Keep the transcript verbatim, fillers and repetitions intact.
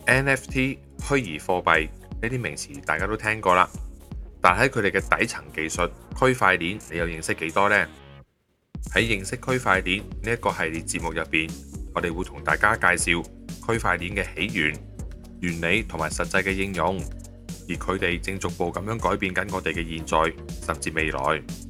N F T 虛擬貨幣呢啲名詞大家都聽過啦，但喺佢哋嘅底層技術區塊鏈，你又認識幾多呢？喺認識區塊鏈呢一個系列節目入邊，我哋會同大家介紹區塊鏈嘅起源、原理同埋實際嘅應用，而佢哋正逐步咁樣改變緊我哋嘅現在甚至未來。